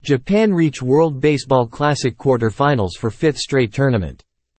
Japan reach World Baseball Classic quarter-finals for fifth straight tournament.